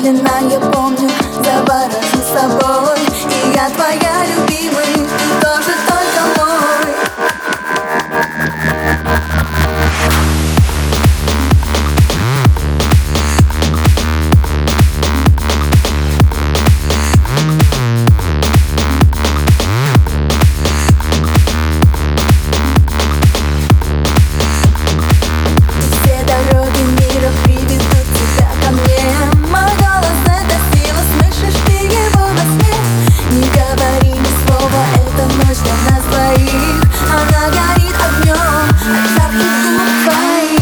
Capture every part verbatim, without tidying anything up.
Медленно я помню, заворожу собой. И я твоя любимая, ты тоже только мой. Все дороги мира приведут тебя ко мне. Мой голос — это сила, слышишь ты его во сне. Не говори ни слова, эта ночь для нас двоих. Она горит огнем от жарких губ твоих.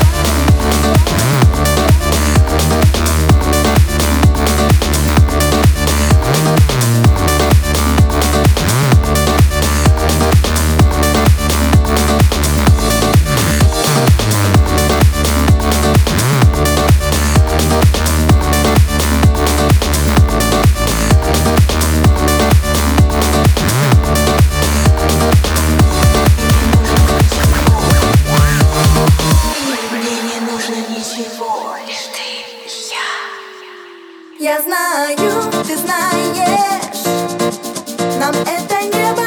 Ничего, лишь ты, лишь я. Я знаю, ты знаешь, нам это не